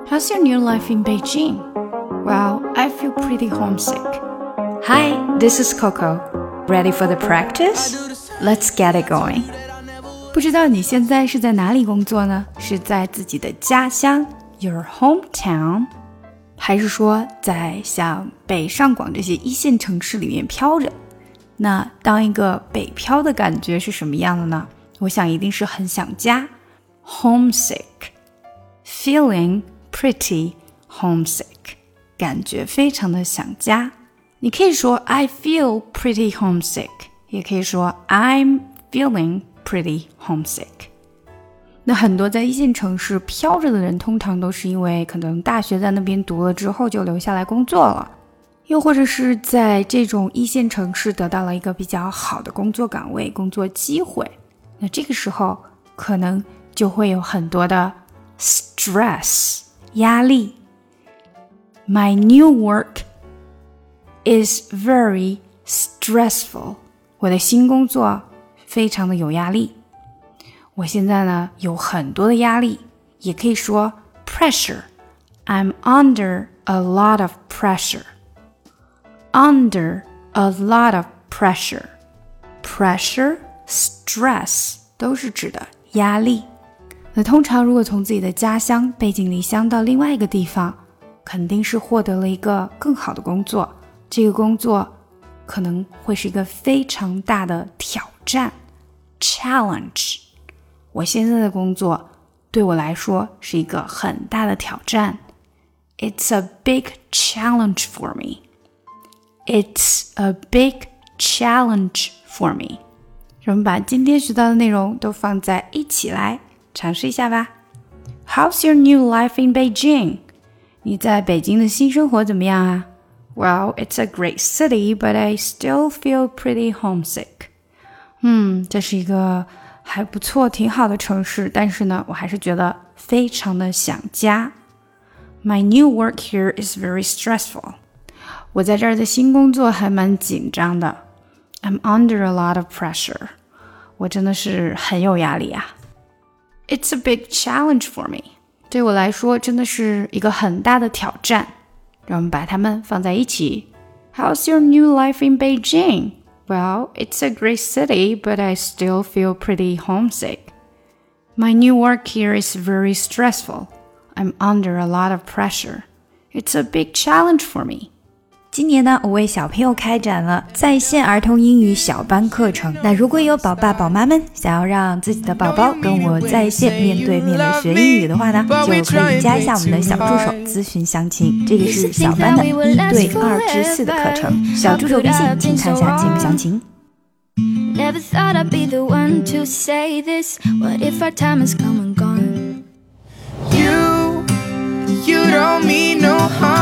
How's your new life in Beijing? Well, I feel pretty homesick. Hi, this is Coco. Ready for the practice? Let's get it going. 不知道你现在是在哪里工作呢？是在自己的家乡 your hometown， 还是说在像北上广这些一线城市里面飘着？那当一个北漂的感觉是什么样的呢？我想一定是很想家 homesick， feeling pretty homesick， 感觉非常的想家。你可以说 I feel pretty homesick， 也可以说 I'm feeling pretty homesick。 那很多在一线城市飘着的人，通常都是因为可能大学在那边读了之后就留下来工作了，又或者是在这种一线城市得到了一个比较好的工作岗位、工作机会，那这个时候可能就会有很多的 stress 压力。 My new work is very stressful， 我的新工作非常的有压力。我现在呢有很多的压力，也可以说 pressure， I'm under a lot of pressure， under a lot of pressure， pressure stress 都是指的压力。那通常如果从自己的家乡背井离乡到另外一个地方，肯定是获得了一个更好的工作，这个工作可能会是一个非常大的挑战 challenge。 我现在的工作对我来说是一个很大的挑战， It's a big challenge for me， It's a big challenge for me。我们把今天学到的内容都放在一起来尝试一下吧。 How's your new life in Beijing? 你在北京的新生活怎么样啊？ Well, it's a great city, but I still feel pretty homesick. 这是一个还不错挺好的城市，但是呢我还是觉得非常的想家。 My new work here is very stressful. 我在这儿的新工作还蛮紧张的。I'm under a lot of pressure. 我真的是很有压力啊。 It's a big challenge for me. 对我来说真的是一个很大的挑战。让我们把它们放在一起。 How's your new life in Beijing? Well, it's a great city, but I still feel pretty homesick. My new work here is very stressful. I'm under a lot of pressure. It's a big challenge for me. 今年呢，我为小朋友开展了在线儿童英语小班课程。那如果有宝爸宝妈们想要让自己的宝宝跟我在线面对面的学英语的话呢，就可以加一下我们的小助手咨询详情。这个是小班的1对2至4的课程，小助手微信请看一下节目详情。 Never thought I'd be the one to say this. What if our time has come and gone? You don't mean no harm.